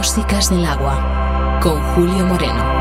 Músicas del Agua, con Julio Moreno.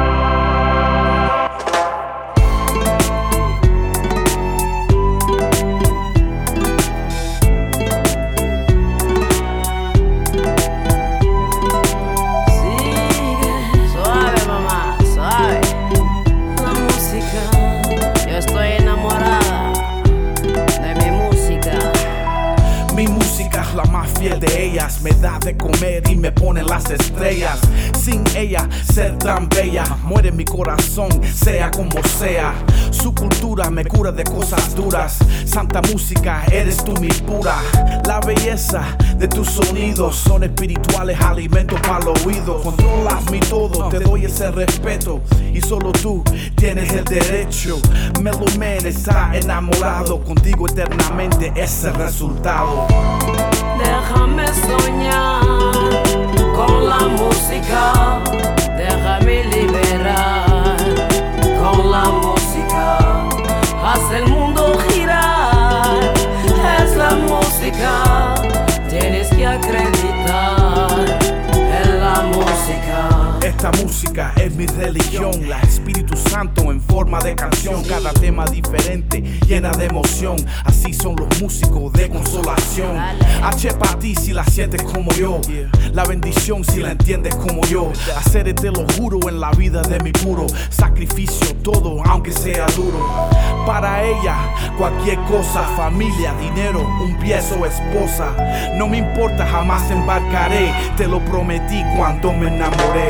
De ellas me da de comer y me pone las estrellas. Sin ella ser tan bella, muere mi corazón, sea como sea. Su cultura me cura de cosas duras. Santa música, eres tú mi pura. La belleza de tus sonidos son espirituales, alimentos para el oído. Controlas mi todo, te doy ese respeto y solo tú tienes el derecho. Meloman está enamorado, contigo eternamente es el resultado. Déjame soñar con la música, déjame liberar con la música. Haz el mundo girar, es la música, tienes que acreditar en la música. Esta música es mi religión, la Espíritu Santo en forma de canción. Cada tema diferente, llena de emoción. Así son los músicos de consolación. H para ti si la sientes como yo, la bendición si la entiendes como yo. Hacer te lo juro en la vida de mi puro sacrificio, todo aunque sea duro. Para ella cualquier cosa, familia, dinero, un pie o esposa. No me importa, jamás embarcaré, te lo prometí cuando me enamoré.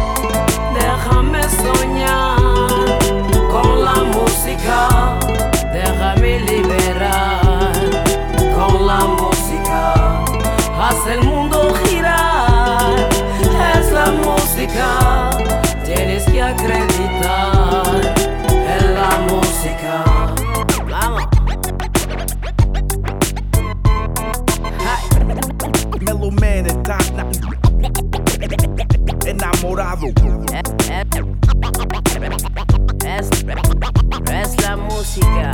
Déjame soñar con la música, déjame liberar con la música. Haz el mundo girar, es la música, tienes que acreditar en la música. Vamos. Meloman está enamorado. Es la música.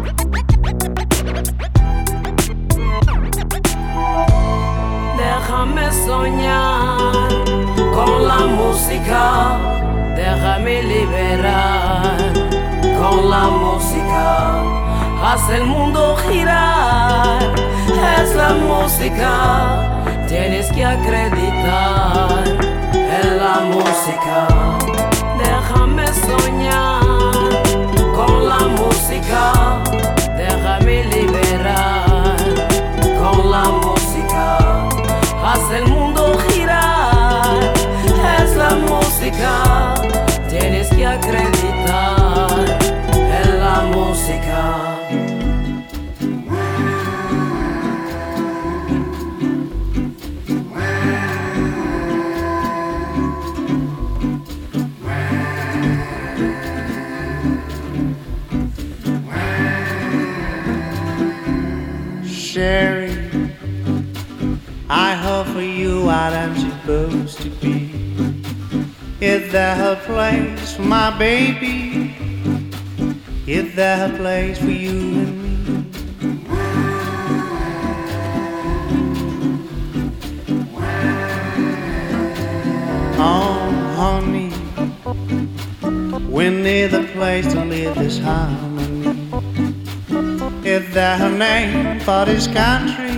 Déjame soñar con la música, déjame liberar con la música. Haz el mundo girar, es la música, tienes que acreditar en la música. Déjame soñar con la música, déjame liberar con la música. Haz el mundo girar, es la música, tienes que acreditar en la música. Sherry, I hope for you what I'm supposed to be. Is there a place for my baby? Is there a place for you and me? Oh, honey, we need a place to live this harmony. Is there a name for this country?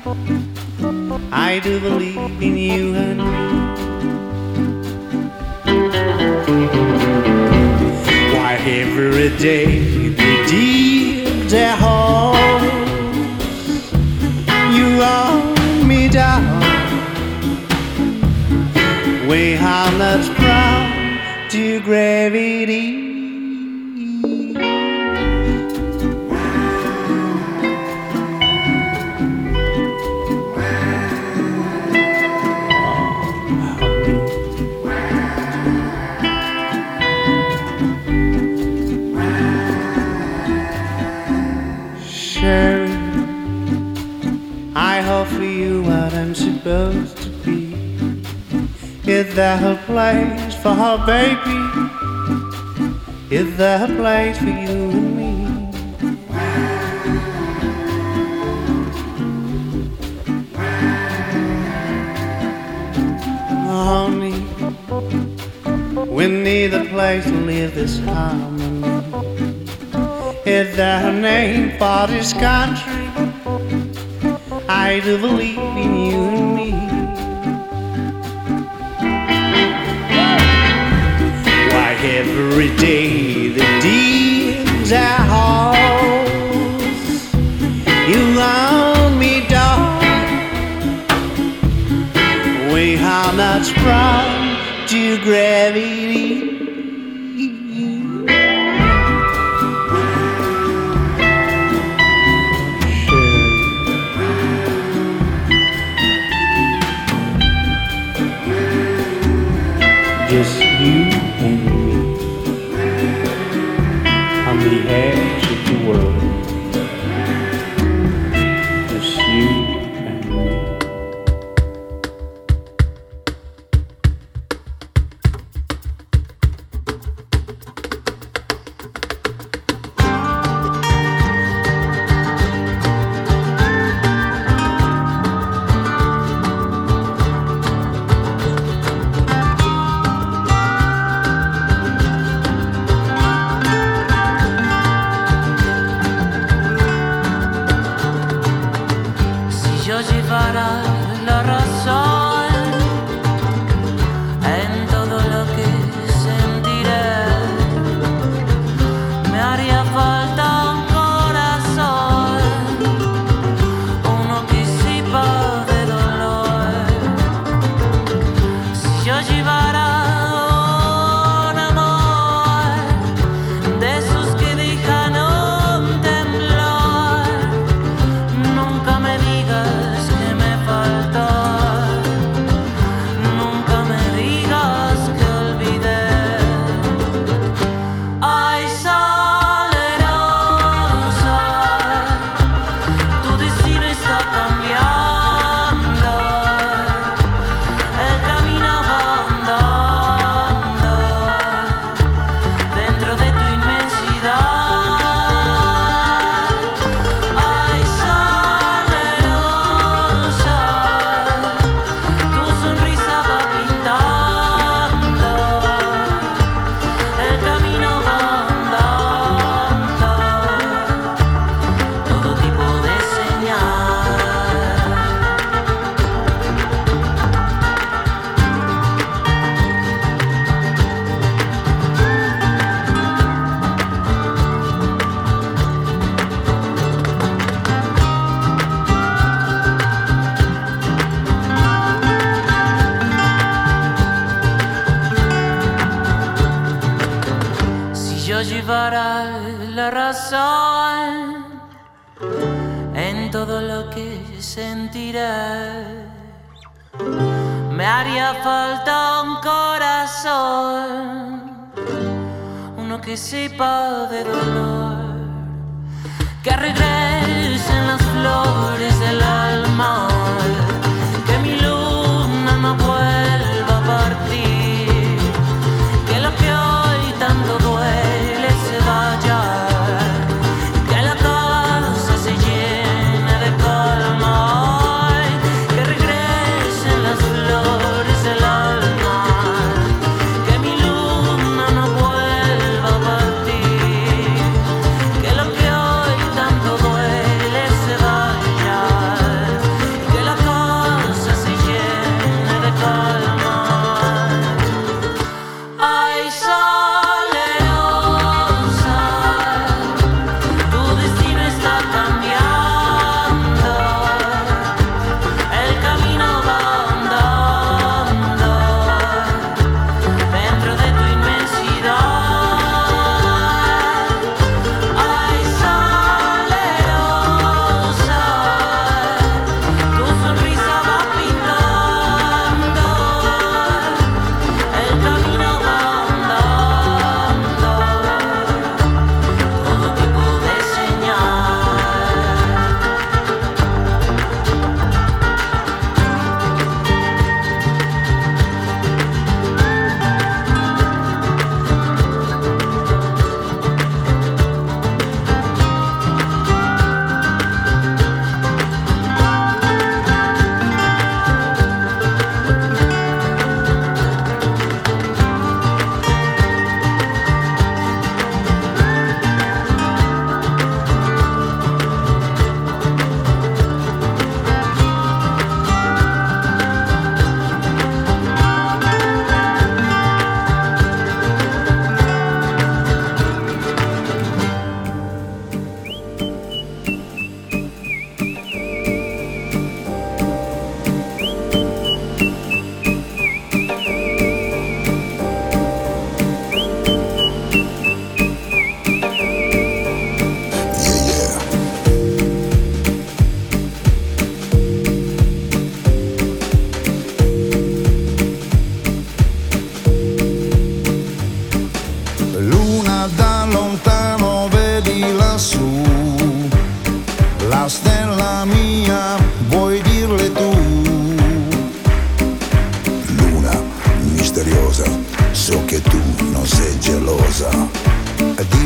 I do believe in you and me. Why every day we dig their holes, you roll me down. We are not proud to gravity. I hope for you what I'm supposed to be. Is there a place for her baby? Is there a place for you and me? Oh neath a place to live this harmony. Is there a name for this country? I do believe in you and me. Why every day the deeds are house you own me, darling. We are not sprung to gravity. Just you and me on the edge of the world. Just you and me. En todo lo que sentiré, me haría falta un corazón, uno que sepa de dolor, que regresen las flores del alma, que mi luna no vuelva a partir, que lo que hoy tanto duele se vaya. Todo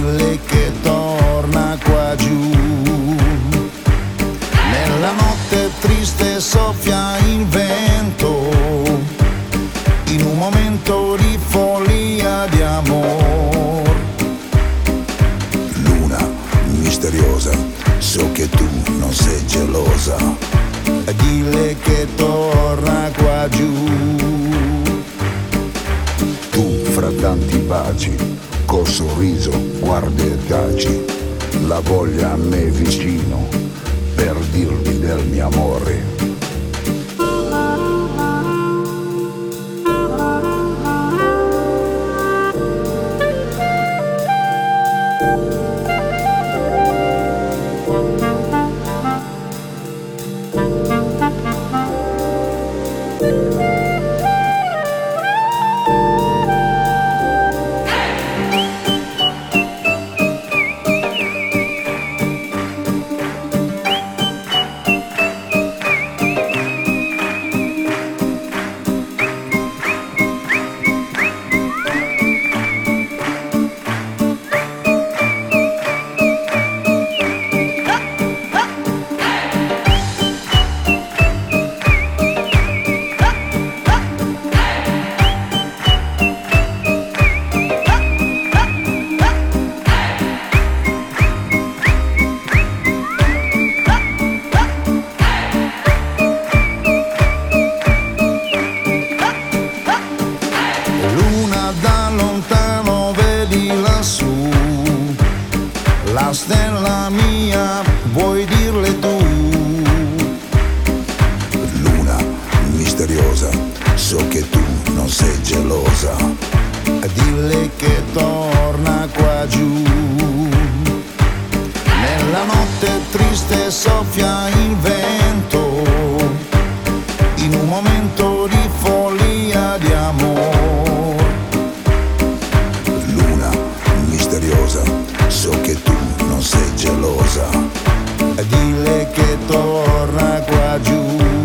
dille che torna qua giù. Nella notte triste soffia il vento, in un momento di follia di amor. Luna misteriosa, so che tu non sei gelosa, dille che torna qua giù. Tu fra tanti baci, col sorriso guardi e taci, la voglia a me vicino per dirvi del mio amore. Stella mia, vuoi dirle tu? Luna misteriosa, so che tu non sei gelosa, dille che torna qua giù. Nella notte triste soffia il vento, in un momento di follia di amor. Luna misteriosa, so che tu non sei gelosa, dille che torna qua giù.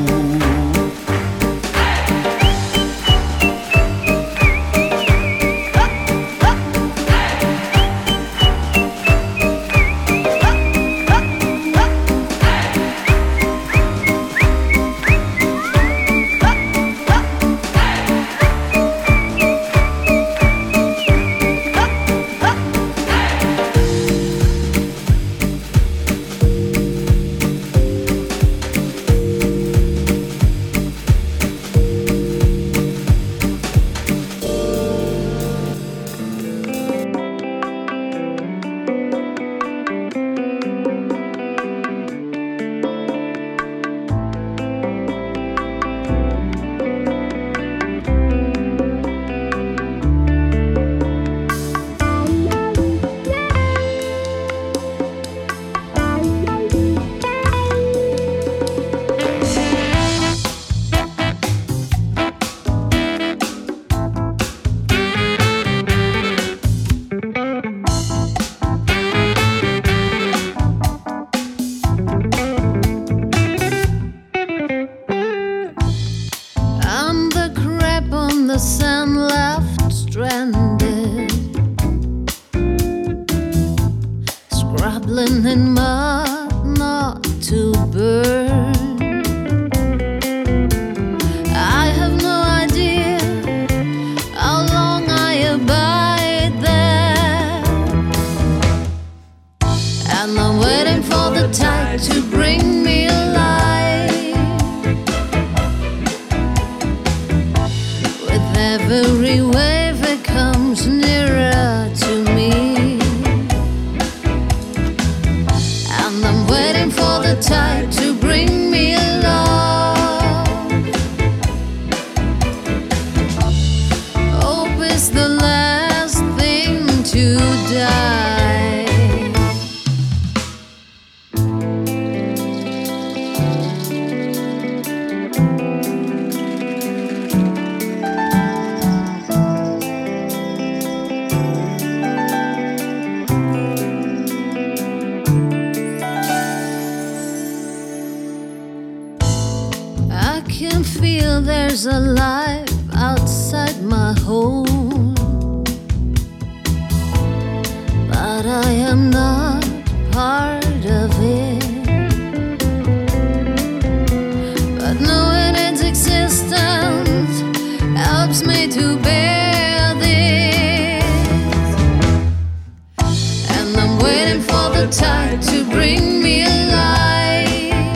There's a life outside my home, but I'm not part of it, but knowing its existence helps me to bear this. And I'm waiting for the tide to bring me alive.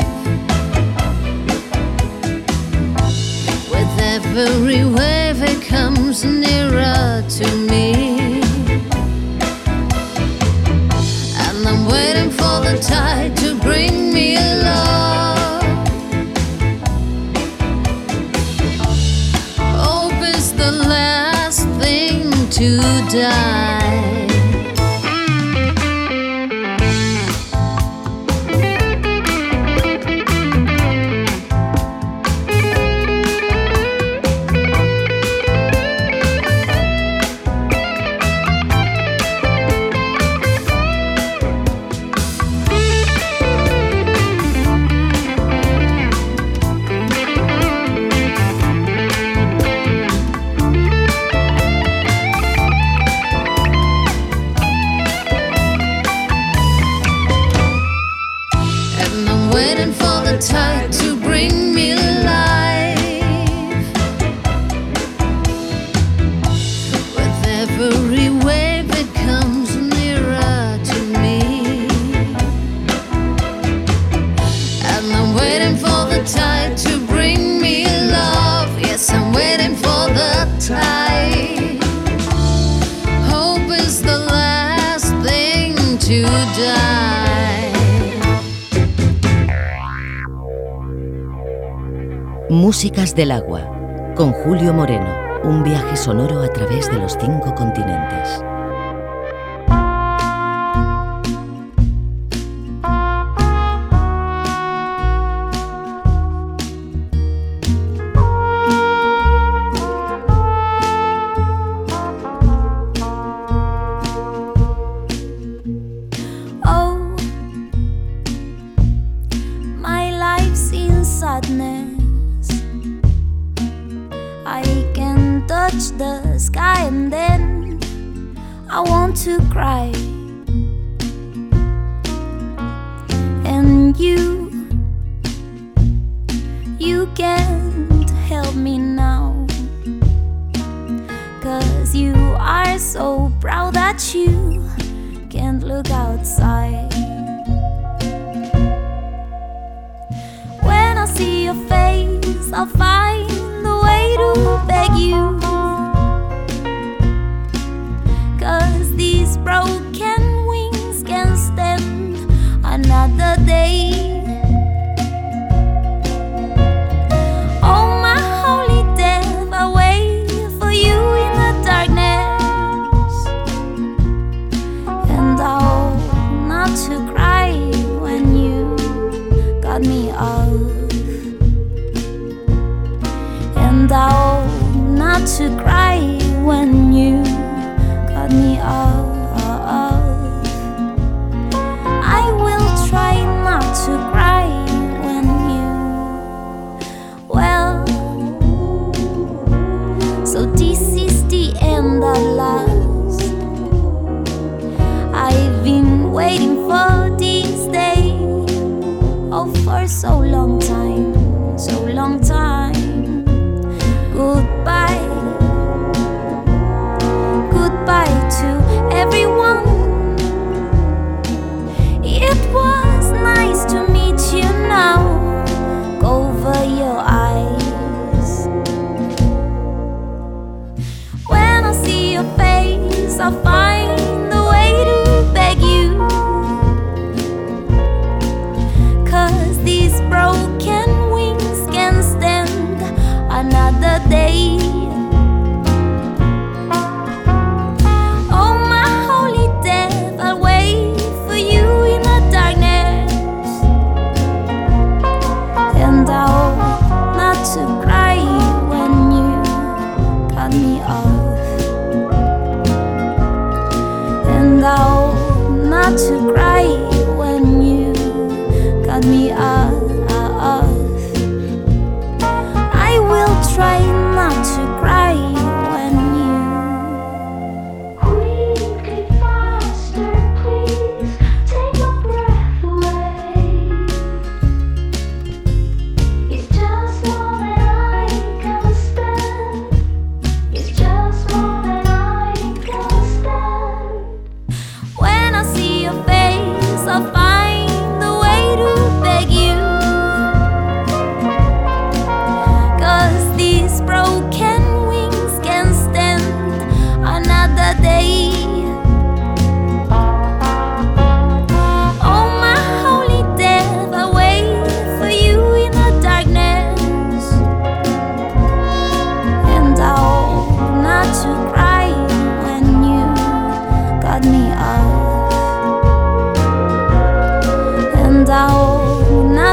With every wave it comes nearer to me. I'm waiting for the tide to bring me love. Hope is the last thing to die. Tide to bring me alive. With every wave it comes nearer to me. And I'm waiting for the tide to bring me love. Yes, I'm waiting for the tide. Hope is the last thing to die. Músicas del Agua, con Julio Moreno, un viaje sonoro a través de los 5 continentes. Oh, my life's in sadness. I can touch the sky and then I want to cry. And you can't help me now, 'cause you are so proud that you can't look outside. When I see your face, I'll find the way to beg you, 'cause these broken wings can't stand another day. Oh, my holy death, I wait for you in the darkness, and I hope not to cry when you got me out. And I hope not to cry when you cut me off. I will try not to cry when you, well, so this is the end at last. I've been waiting for this day, oh, for so long time, so long time. Goodbye, goodbye to everyone. It was nice to meet you now. Cover your eyes. When I see your face, I'll find the way to beg you, 'cause these broken wings can't stand another day. to beg you, 'cause these broken wings can stand another day. Oh my holy death, I wait for you in the darkness, and I hope not to cry when you cut me off, and I hope not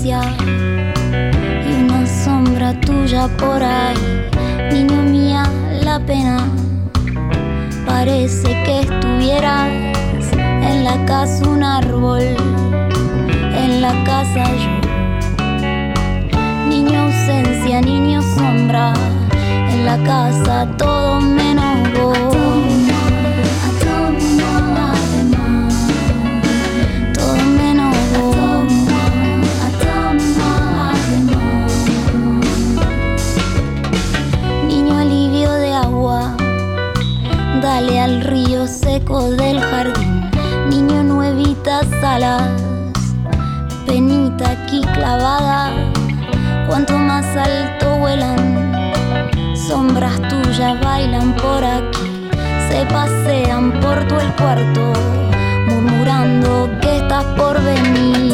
ausencia y una sombra tuya por ahí. Niño mía, la pena parece que estuvieras en la casa un árbol, en la casa yo. Niño ausencia, niño sombra, en la casa todo menos vos. Todo menos vos. Niño alivio de agua, dale al río seco del jardín. Niño nuevitas alas, penita aquí clavada. Cuanto más alto vuelan, sombras tuyas bailan por aquí. Se pasean por todo el cuarto, murmurando que estás por venir.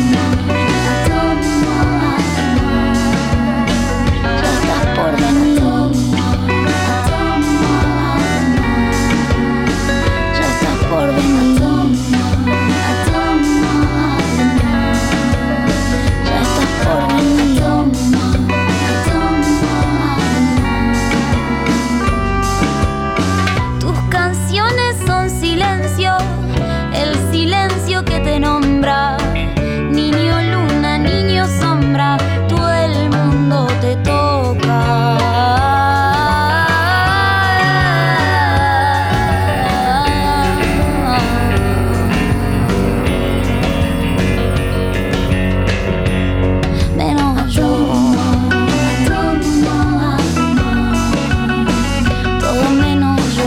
Ya estás por venir. Ya estás por venir. Ya estás por venir. Son silencio, el silencio que te nombra. Niño luna, niño sombra, todo el mundo te toca. Menos yo. Todo menos yo.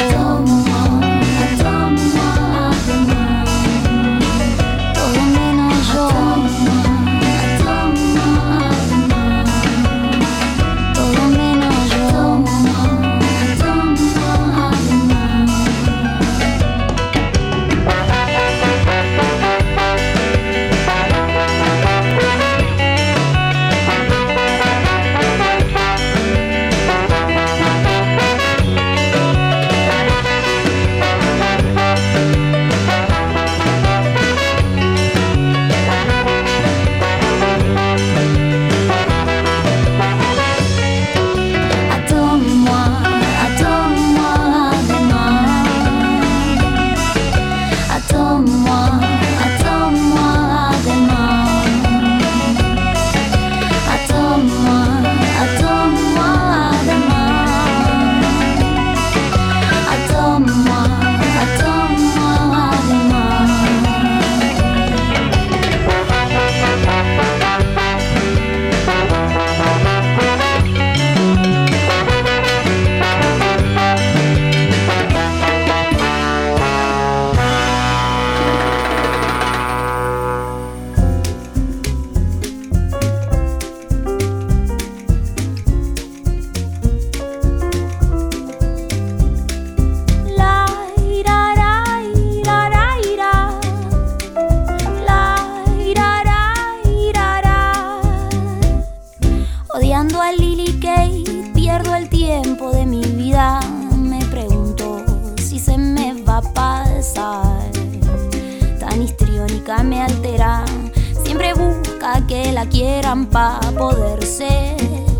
Odiando a Lily Kate, pierdo el tiempo de mi vida. Me pregunto si se me va a pasar. Tan histriónica me altera, siempre busca que la quieran pa' poderse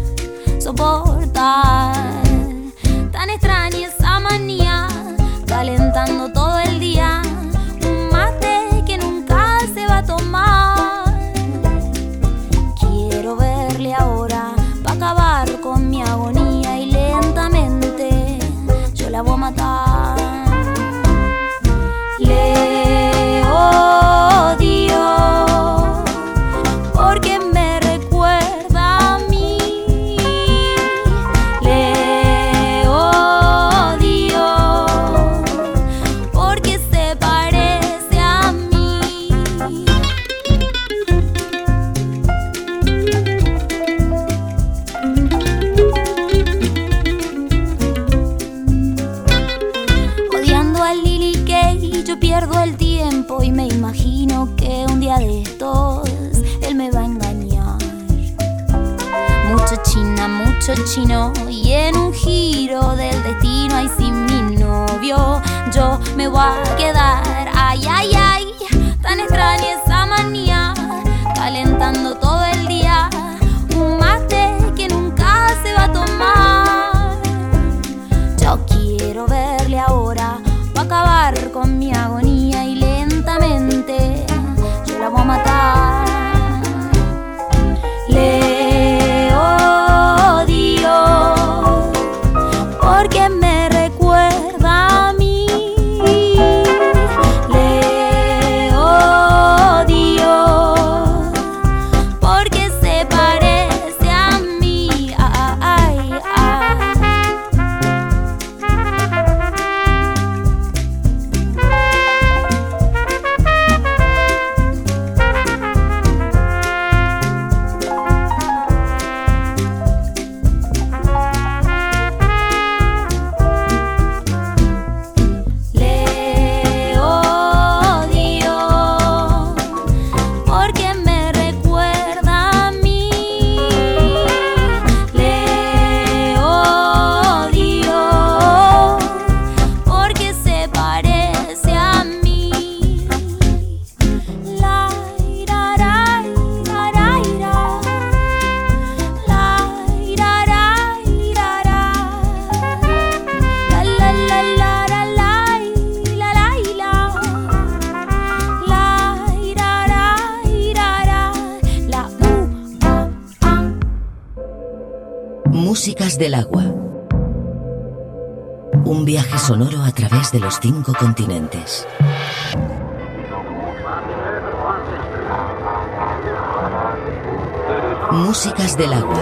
soportar. Tan extraña esa manía, calentando todo el día un mate que nunca se va a tomar. Quiero verle ahora pa' acabar con mi agonía y lentamente yo la voy a matar. Le odio porque me recuerda a mí. Le odio porque se parece a mí. Odiando a Lily Kay, yo pierdo el tiempo y me imagino que un día de estos él me va a engañar. Mucho china, mucho chino, y en un giro del destino, ay, sin mi novio yo me voy a quedar. Ay, ay, ay, tan extraña esa manía, calentando todo el Músicas del agua. Un viaje sonoro a través de los 5 continentes. Músicas del agua.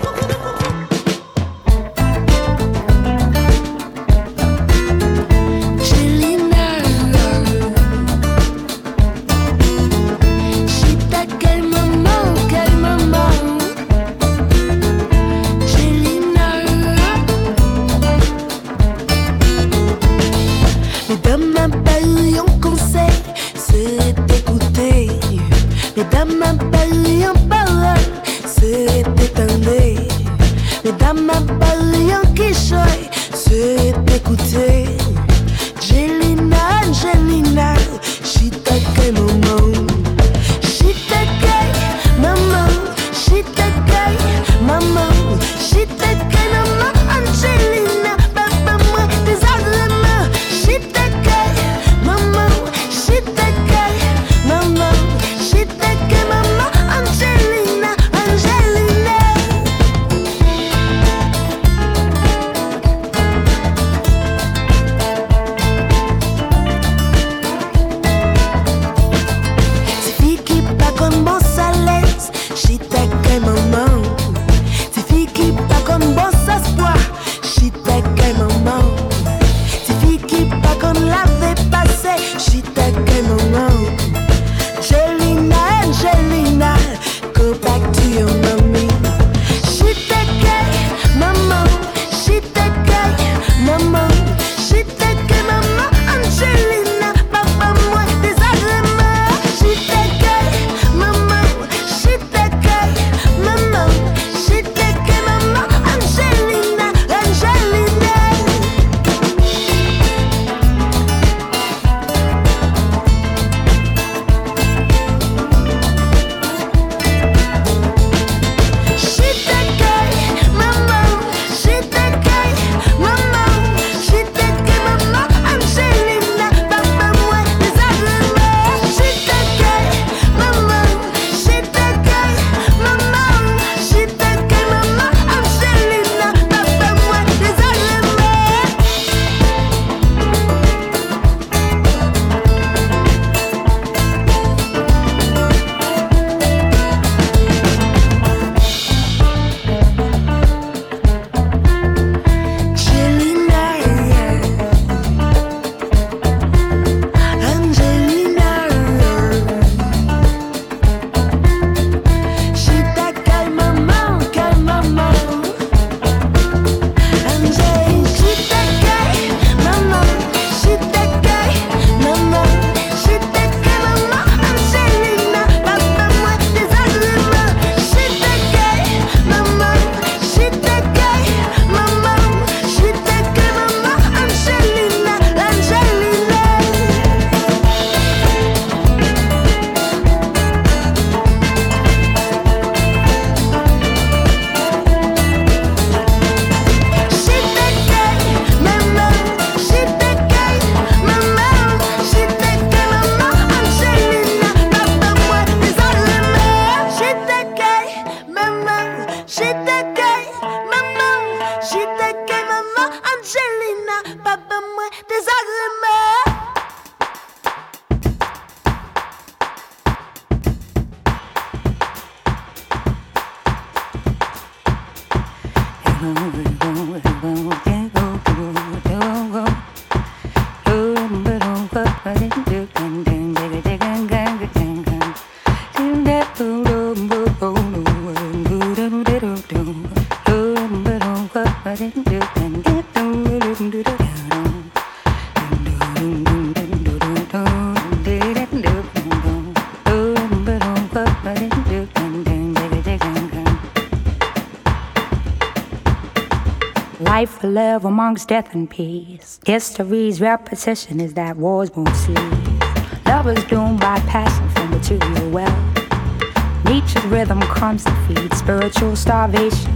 Life will live amongst death and peace. History's repetition is that wars won't cease. Lovers doomed by passion from material wealth. Nature's rhythm comes to feed spiritual starvation.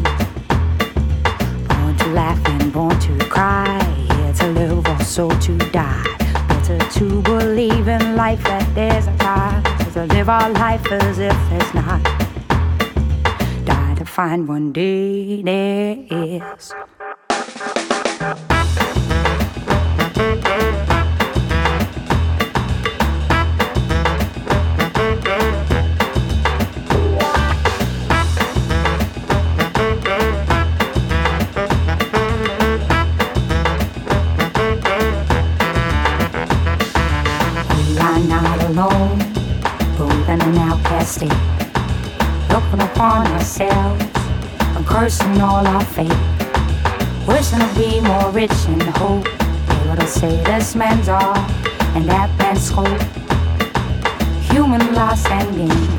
Born to laugh and born to cry. Here to live or so to die. Better to believe in life that there's a God. So to live our life as if there's not. Die to find one day there is. Alone, moving an outcast state, looking upon ourselves and cursing all our fate, wishing to be more rich in hope, able to say this man's all and that man's scope, human loss and gain.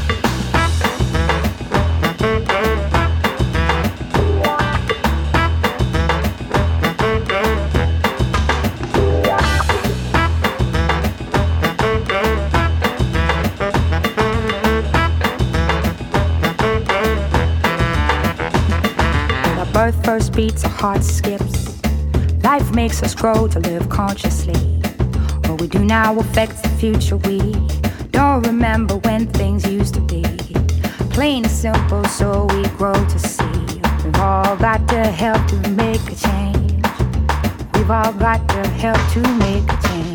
Birth first beats, our heart skips. Life makes us grow to live consciously. What we do now affects the future. We don't remember when things used to be. Plain and simple, so we grow to see. We've all got to help to make a change. We've all got to help to make a change.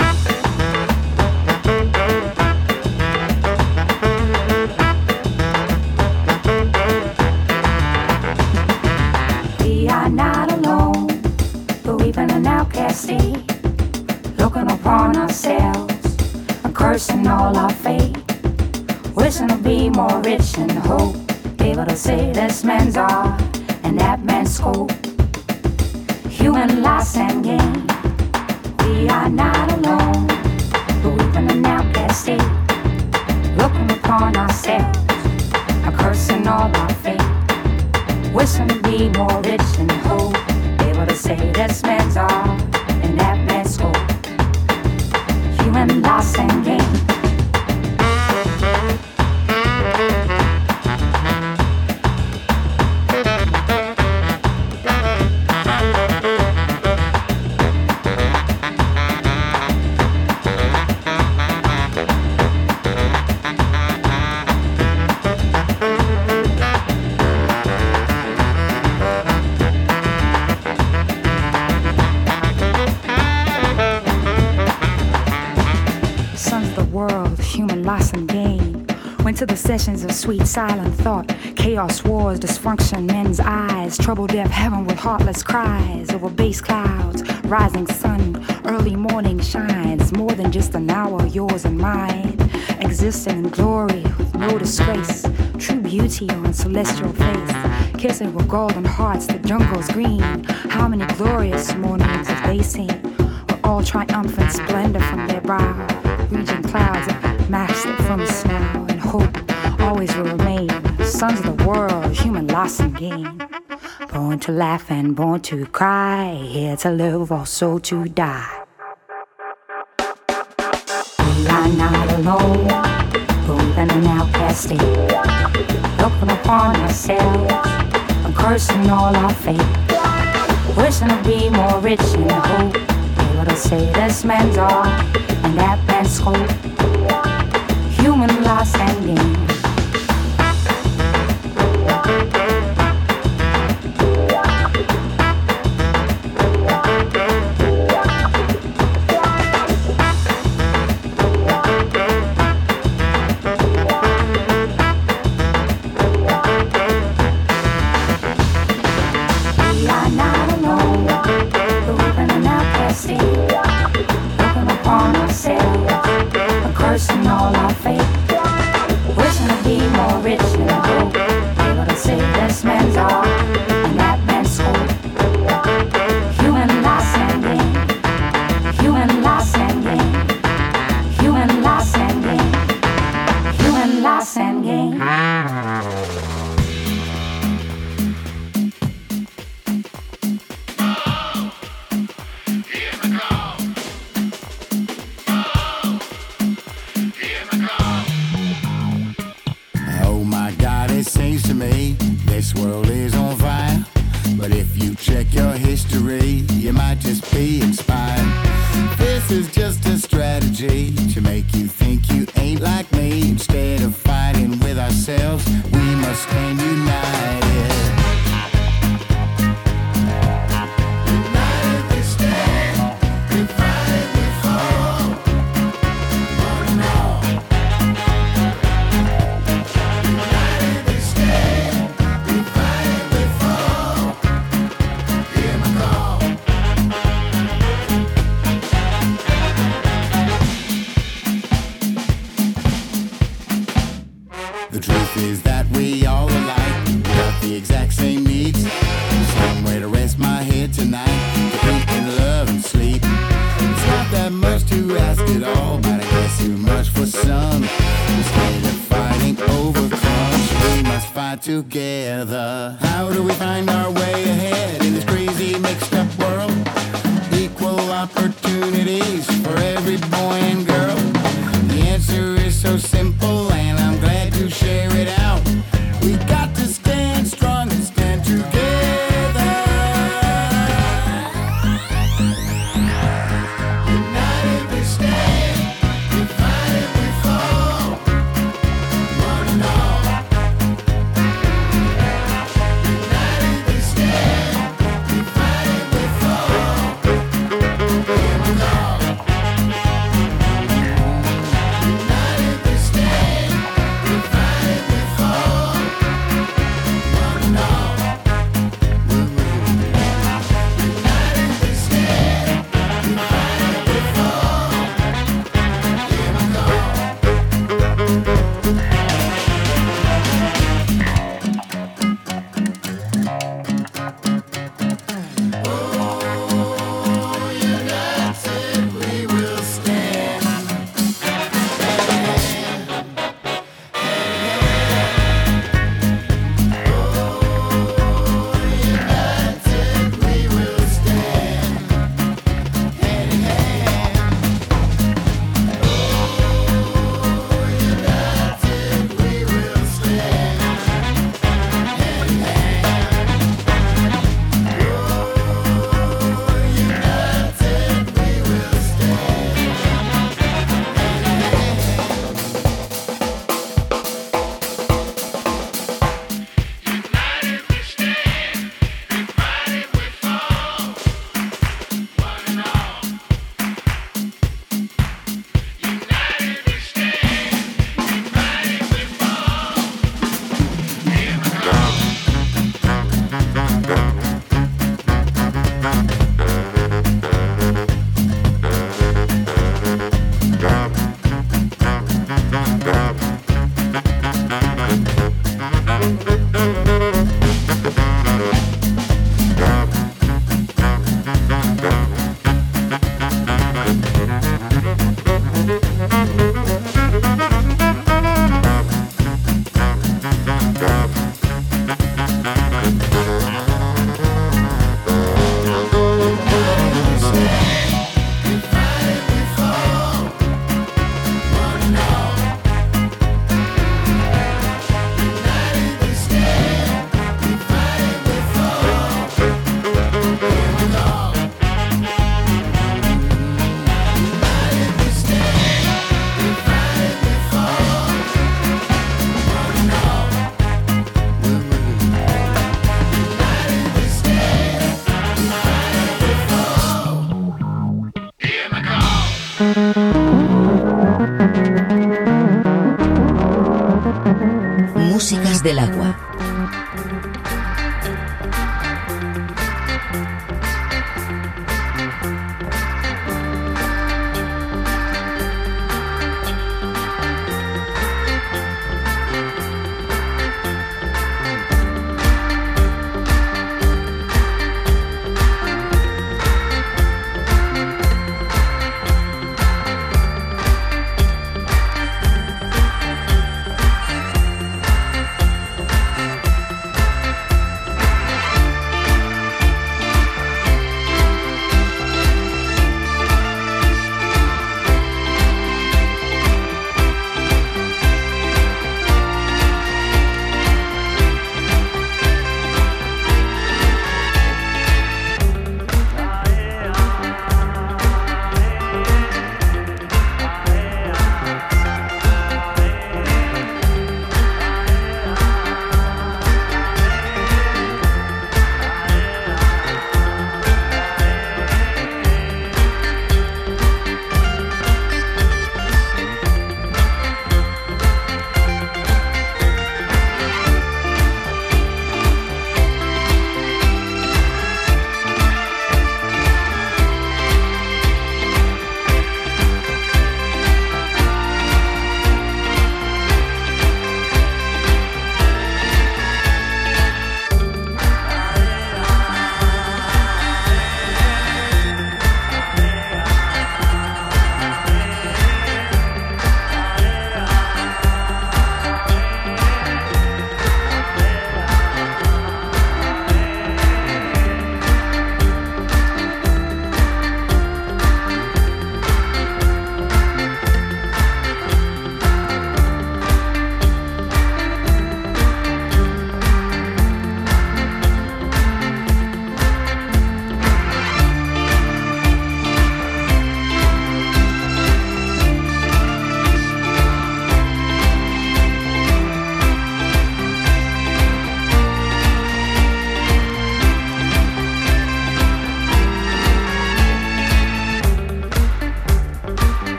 We are not alone, but we've been an outcast state, looking upon ourselves and cursing all our fate, wishing to be more rich in hope, able to say this man's all and that man's scope, human loss and gain. We are not alone, but we've been an outcast state, looking upon ourselves and cursing all our fate, wishing to be more rich in hope, able to say this man's all and that man's scope, human loss and gain. Loss and gain. Went to the sessions of sweet silent thought. Chaos, wars, dysfunction, men's eyes. Trouble, death, heaven with heartless cries. Over base clouds, rising sun. Early morning shines. More than just an hour, yours and mine. Existing in glory with no disgrace. True beauty on celestial face. Kissing with golden hearts, the jungle's green. How many glorious mornings have they seen? With all triumphant splendor from their brow. Reaching clouds of mastered from snow and hope always will remain. Sons of the world, human loss and gain. Born to laugh and born to cry. Here to live, also to die. We are not alone, moving an outcast state, looking upon ourselves and cursing all our fate, wishing to be more rich in hope, able to say this man's all and that man's scope, human loss and gain. We are not alone, but we've been an outcast state, looking upon ourselves and cursing all our fate, wishing to be more rich in hope, able to say this man's all and that man's scope, human loss and gain, human loss and gain, human loss and gain, human loss and gain. Seems to me this world is on fire, but if you check your history, you might just be inspired. This is just a strategy to make you think you ain't like me. Instead of fighting with ourselves, we must stand united. together. How do we find our way ahead in this crazy mixed up world? Equal opportunities for every boy and girl. The answer is so simple and I'm glad to share it out. We got to stand strong and stand together. United we stand, divided we fall. One and all. United we stand, divided we fall. One and all.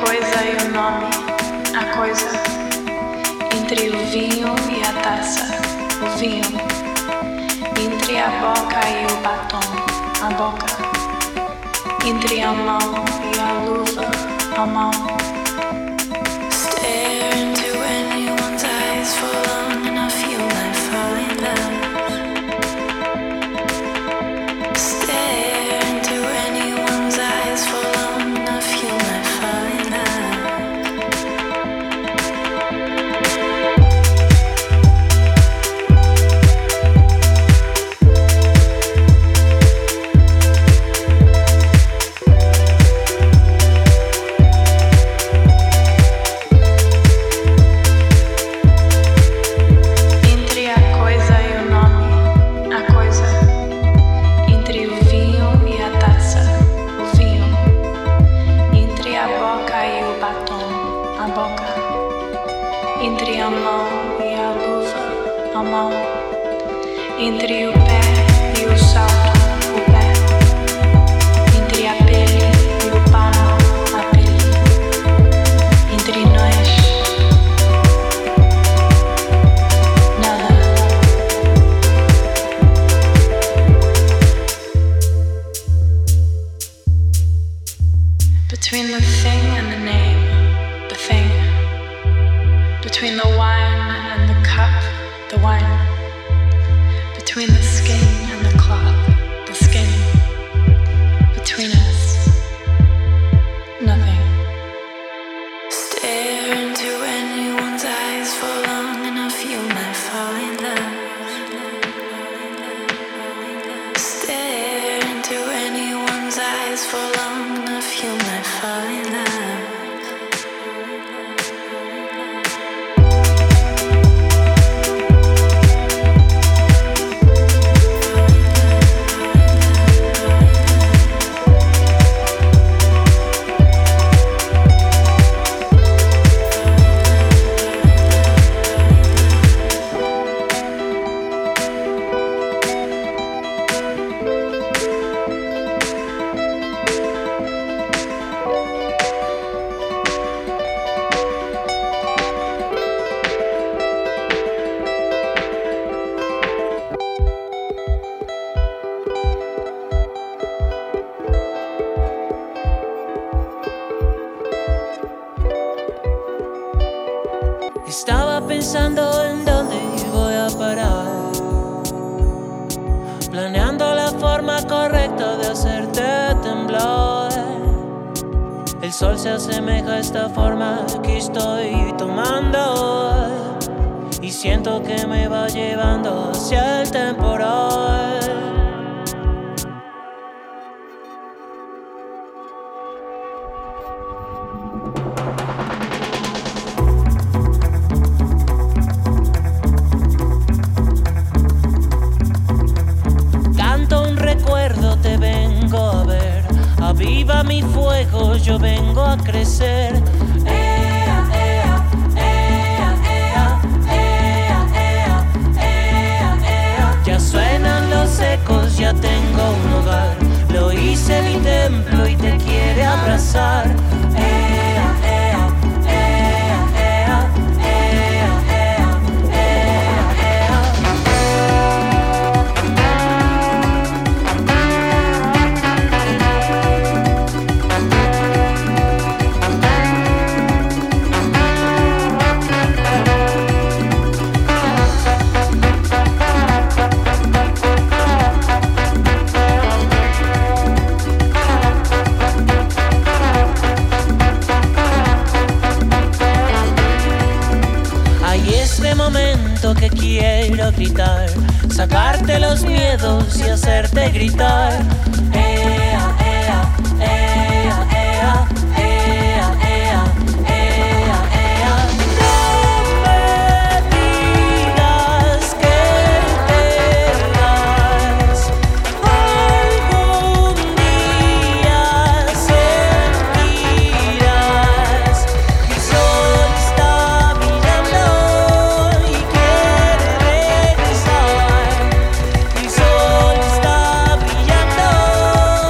coisa e o nome, a coisa entre o vinho e a taça, o vinho entre a boca e o batom, a boca entre a mão e a luva, a mão. Stare into anyone's eyes for long enough, you might fall in love. Stare into anyone's eyes for long enough, you might fall in love. Entre o pé e o salto, o pé. Entre a pele e o pano, a pele. Entre nós, nada. Between the thing and the name, the thing. Between the wine and the cup, the wine. Between the skin and the cloth, the skin. Between us, nothing. Stare into anyone's eyes for long enough, you might fall in love. Stare into anyone's eyes for long enough, you might fall in love. Estaba pensando en dónde voy a parar, planeando la forma correcta de hacerte temblar. El sol se asemeja a esta forma que estoy tomando y siento que me va llevando hacia el temporal. Aviva mi fuego, yo vengo a crecer. Ea, ea, ea, ea, ea, ea, ea, ea. Ya suenan los ecos, ya tengo un hogar. Lo hice mi templo y te quiere abrazar. Ea, ea, ea, ea, ea, ea, que quiero gritar, sacarte los miedos y hacerte gritar. Ea, ea, ea, ea, ea, ea, ea, ea. No me digas que te vas, algún día sentirás que el sol está mirando y quiere regresar. El sol está brillando.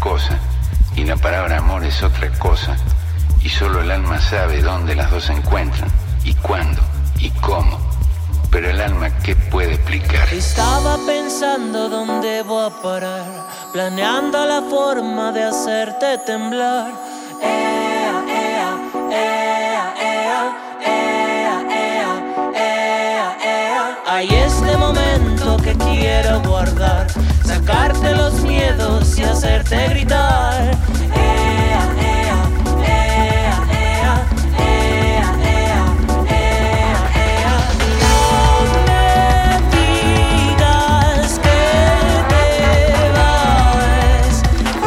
cosa y la palabra amor es otra cosa, y solo el alma sabe dónde las dos se encuentran y cuándo y cómo. Pero el alma, ¿qué puede explicar? Estaba pensando dónde voy a parar, planeando la forma de hacerte temblar. Ea, ea, ea, ea, ea, ea, ea, ea. Hay este momento que quiero guardar, sacarte los miedos y hacerte gritar. Ea, ea, ea, ea, ea, ea, ea, ea. No me digas que te vas,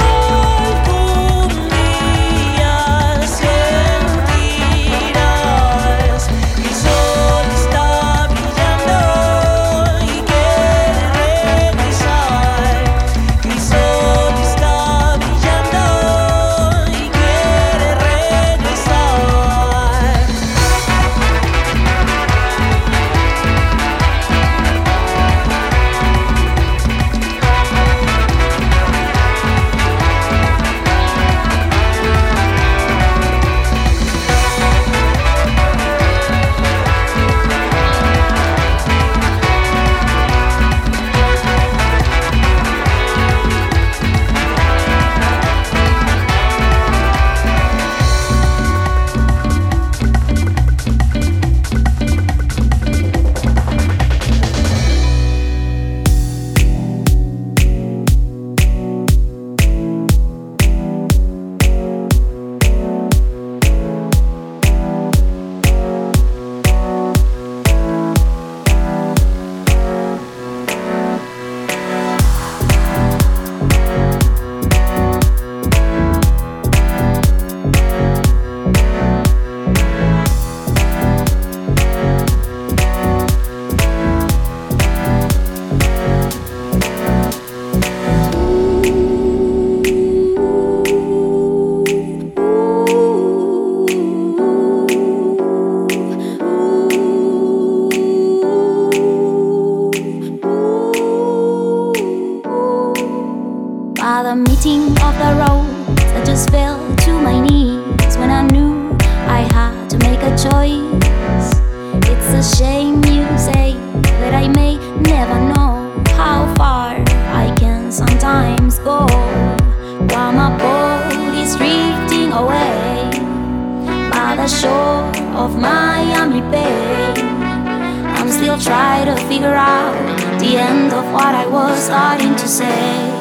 algún día sentirás que el sol está brillando y quiere regresar, que el sol está brillando y quiere regresar. By the meeting of the roads, I just fell to my knees when I knew I had to make a choice. It's a shame you say that I may never know how far I can sometimes go, while my body's drifting away by the shore of Miami Bay. I'm still trying to figure out the end of what I was starting to say.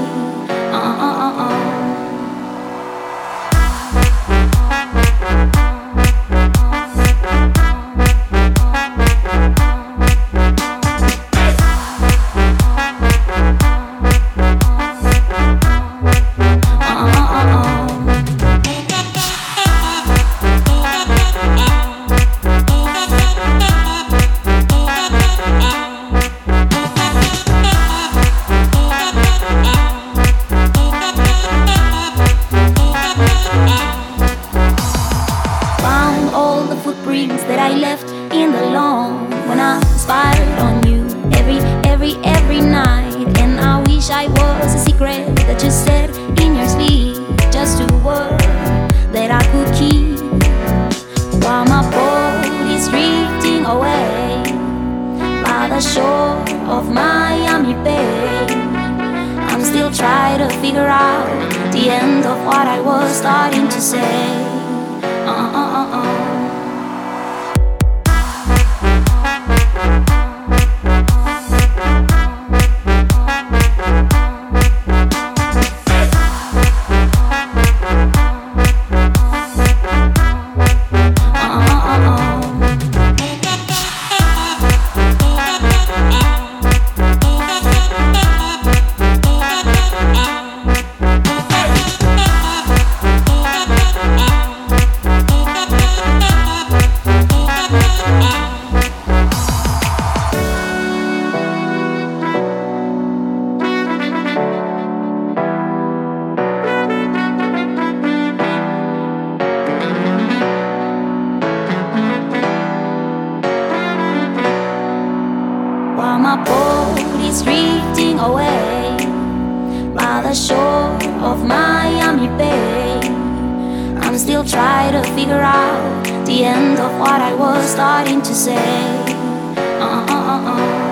and still try to figure out the end of what I was starting to say.